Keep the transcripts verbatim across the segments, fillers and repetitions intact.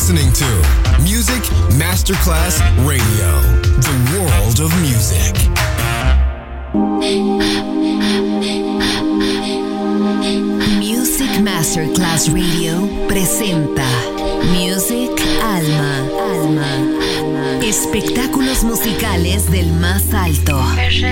listening to Music Masterclass Radio, the world of music. Music Masterclass Radio presenta Music Alma, Alma, espectáculos musicales del más alto.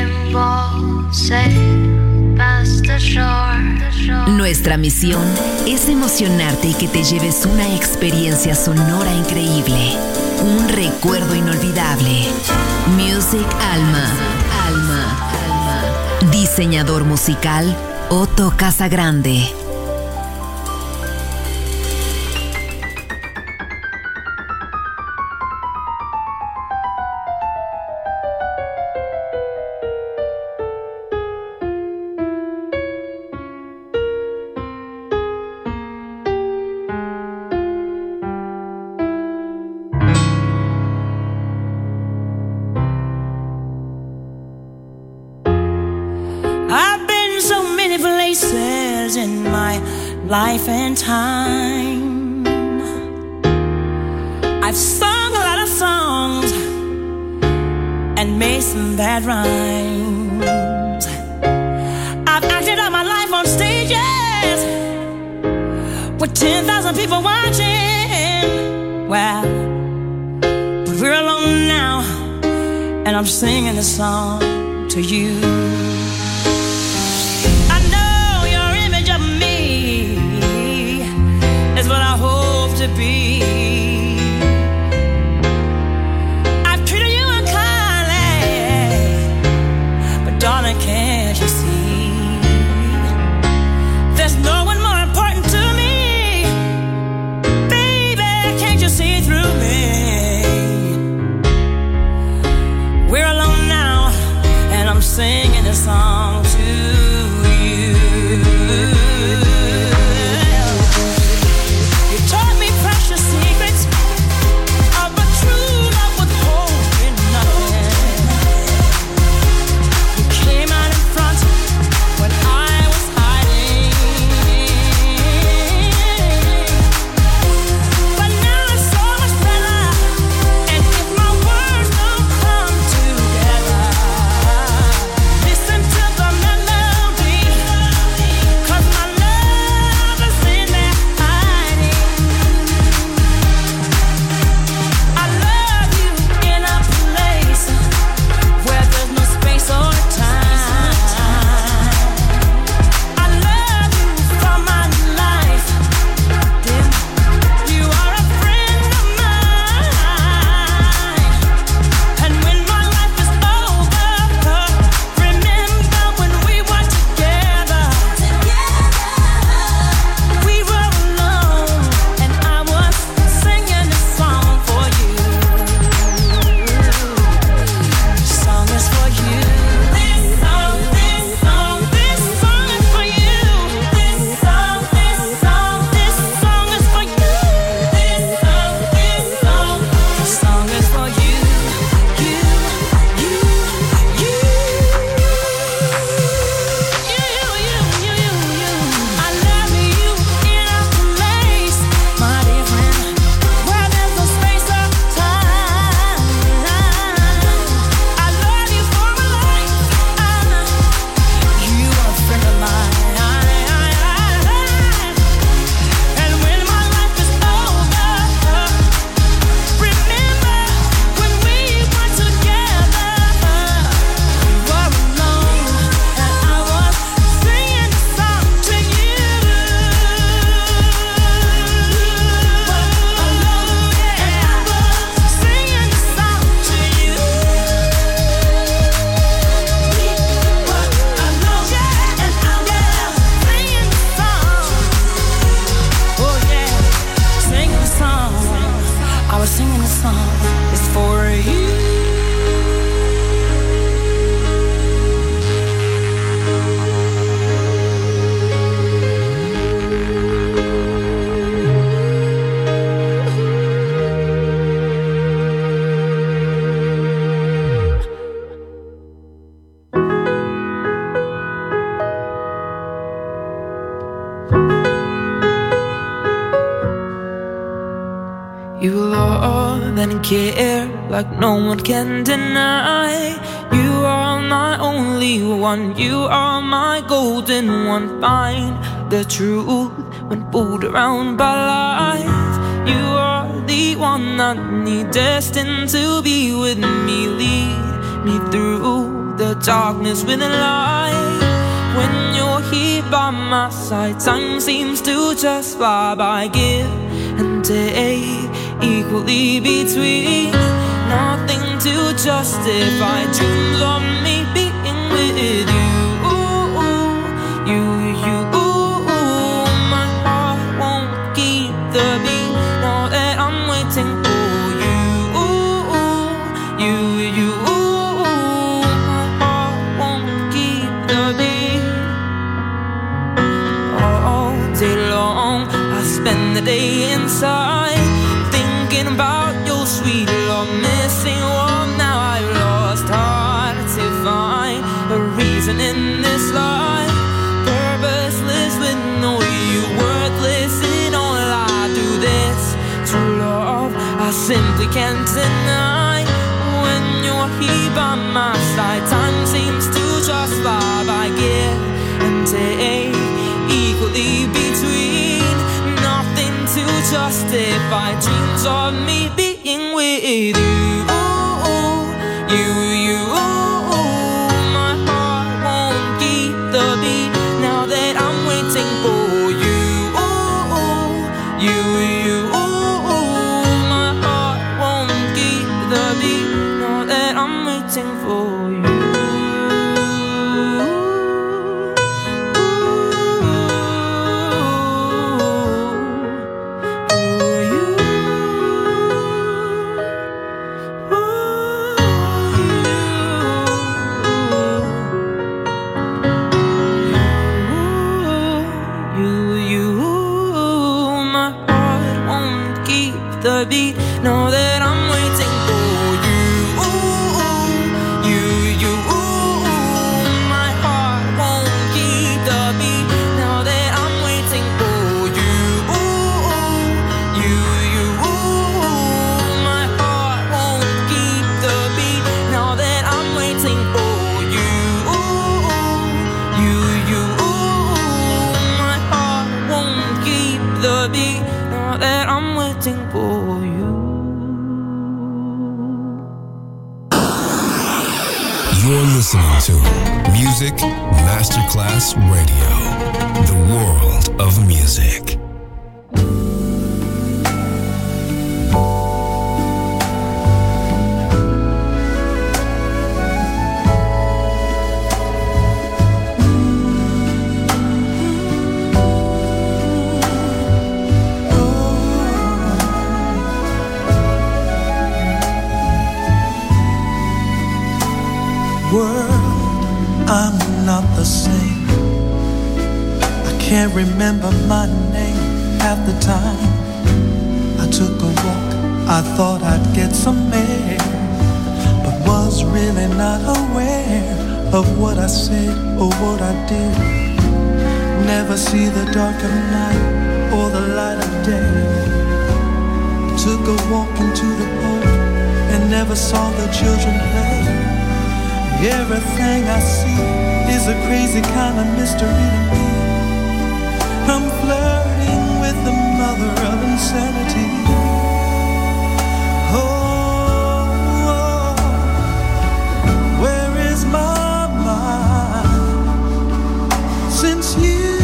Nuestra misión es emocionarte y que te lleves una experiencia sonora increíble, un recuerdo inolvidable. Music Alma, Alma, Alma. Diseñador musical Otto Casagrande. Life and time. I've sung a lot of songs and made some bad rhymes. I've acted out my life on stages with ten thousand people watching. Well, but we're alone now, and I'm singing this song to you. Is what I hope to be. I've treated you unkindly, but darling, can't you see? There's no one more important to me. Baby, can't you see through me? We're alone now, and I'm singing this song to you. You love and care like no one can deny. You are my only one, you are my golden one. Find the truth when fooled around by lies. You are the one I need, destined to be with me. Lead me through the darkness with a light. When you're here by my side, time seems to just fly by. Give and take equally between. Nothing to justify dreams of me being with you. You, you, my heart won't keep the beat. Know that I'm waiting for you. You, you, my heart won't keep the beat. All day long I spend the day inside, thinking about your sweet love, missing what now I've lost. Hard to find a reason in this life, purposeless with no you, worthless in all I do. This true love I simply can't deny. When you're here by my side, time seems to just fly by. Give and take equally between. Nothing to justify dreams of me being with you. You, you, my heart won't keep the beat. Now that I'm waiting for you. You, you, my heart won't keep the beat. Now that I'm waiting for you. Beat. Know that I'm waiting for you. You, you, my heart won't keep the beat. Now that I'm waiting for you. You, you, my heart won't keep the beat. Now that I'm waiting for you. You, you, my heart won't keep the beat. Now that I'm waiting for you. You're listening to Music Masterclass Radio, the world of music. I'm not the same. I can't remember my name half the time. I took a walk, I thought I'd get some air, but was really not aware of what I said or what I did. Never see the dark of night or the light of day. Took a walk into the park and never saw the children play. Everything I see is a crazy kind of mystery to me. I'm flirting with the mother of insanity. Oh, oh, where is my mind? Since you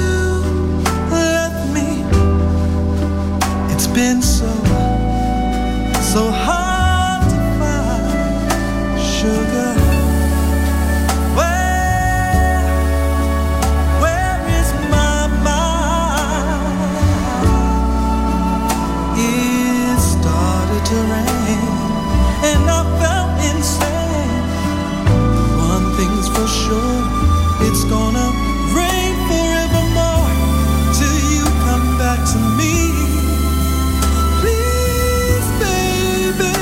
left me, it's been so, so hard to find sugar. To rain, and I felt insane. One thing's for sure, it's gonna rain forevermore till you come back to me. Please, baby.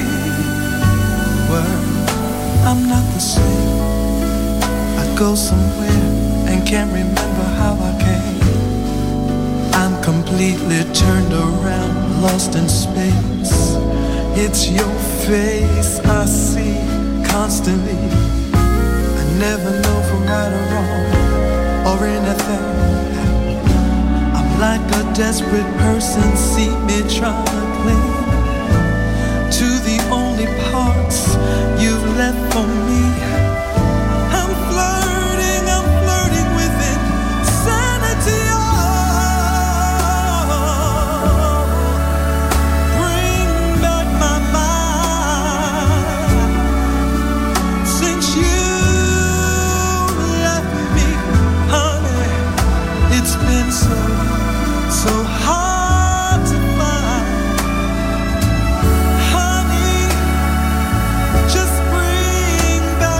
Well, I'm not the same. I go somewhere and can't remember how I came. I'm completely turned around lost in space. It's your face I see constantly. I never know from right or wrong or anything. I'm like a desperate person, see me trying to cling to the only parts you've left for me. I'm flirting, I'm flirting with insanity. Oh, bring back my mind. Since you left me, honey, it's been so, so hard to find. Honey, just bring back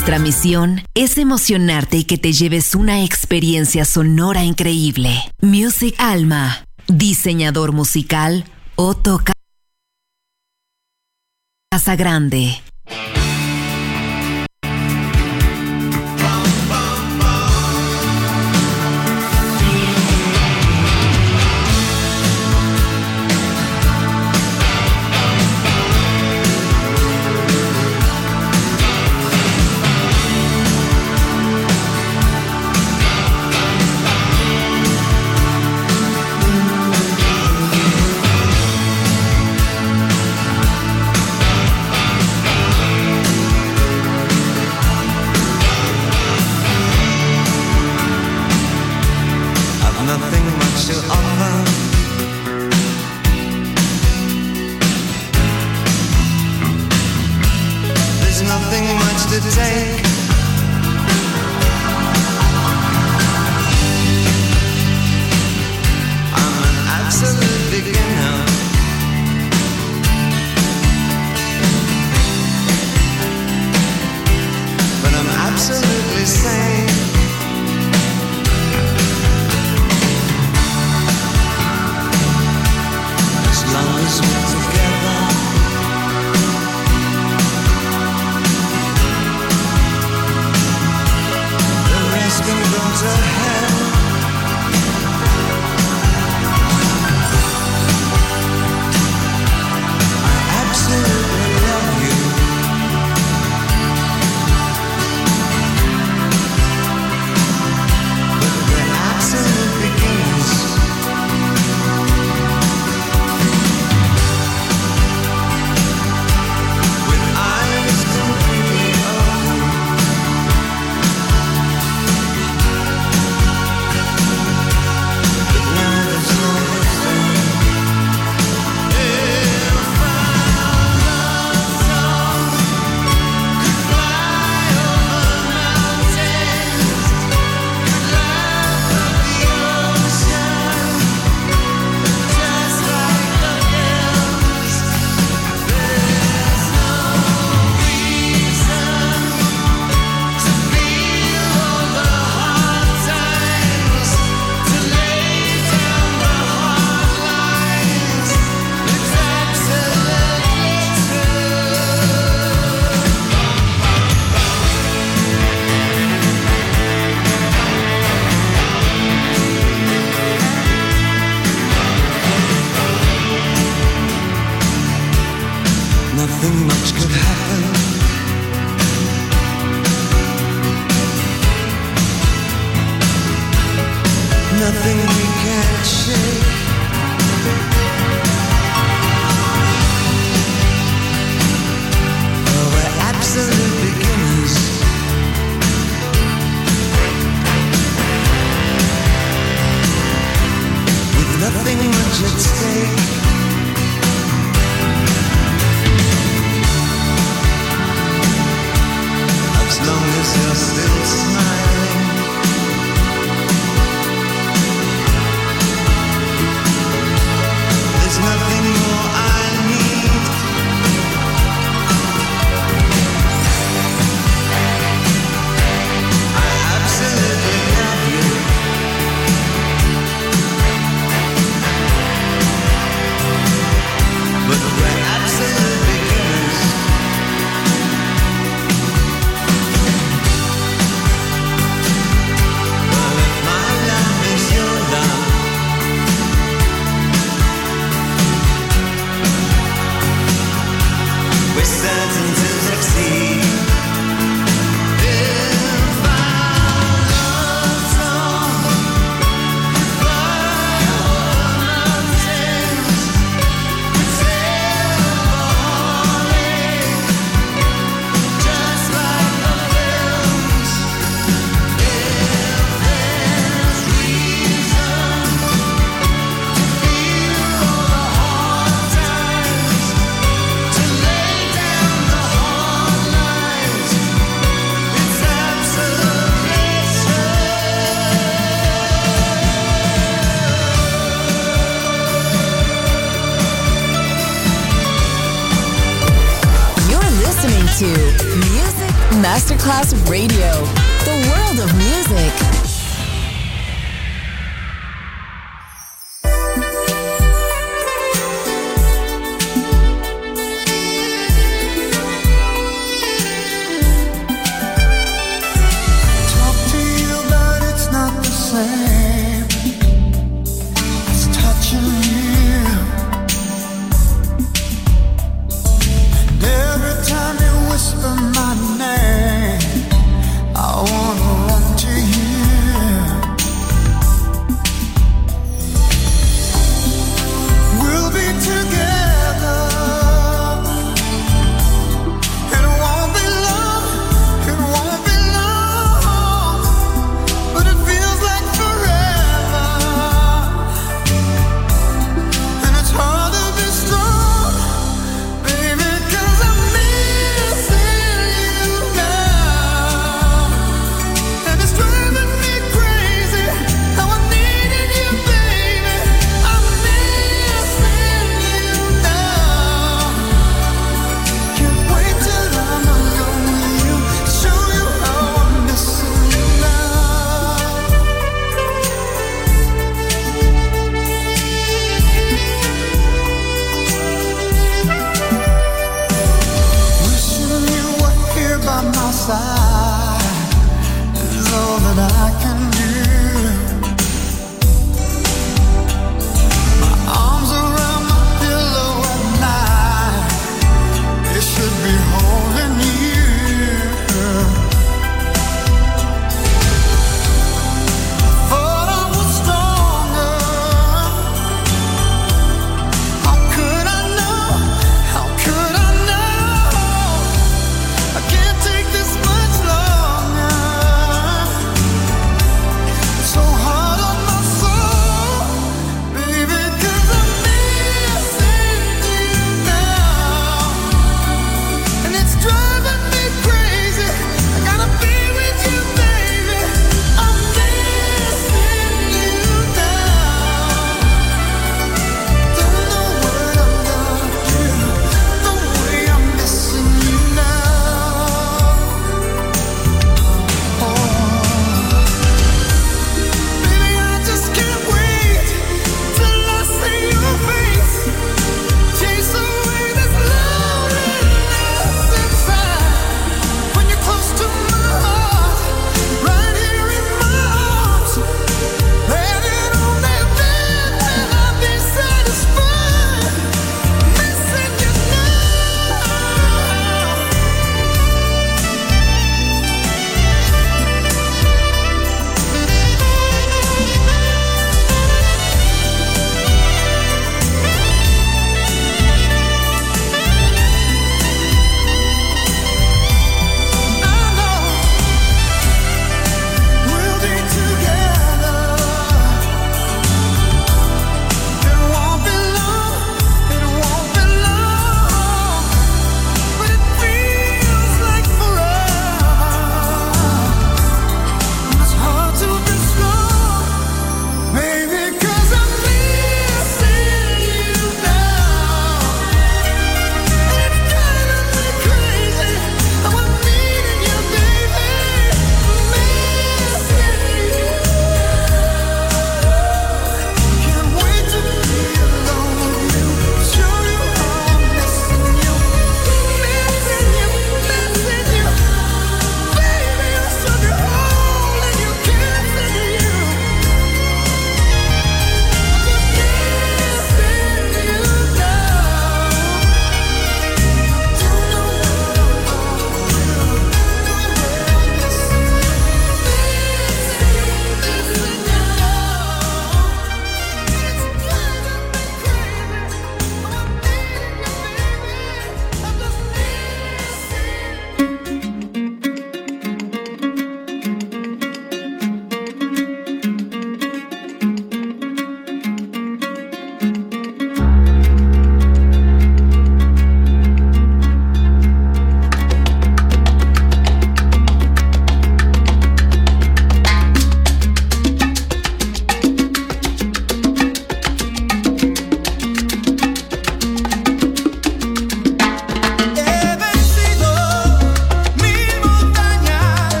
Nuestra misión es emocionarte y que te lleves una experiencia sonora increíble. Music Alma, diseñador musical Otto Casagrande. Masterclass Radio, the world of music. My name, I wanna run to you.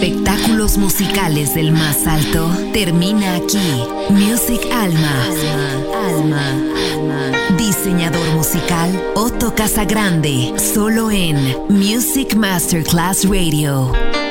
espectáculos musicales del más alto termina aquí. Music Alma. Alma. Alma. Diseñador musical Otto Casagrande. Solo en Music Masterclass Radio.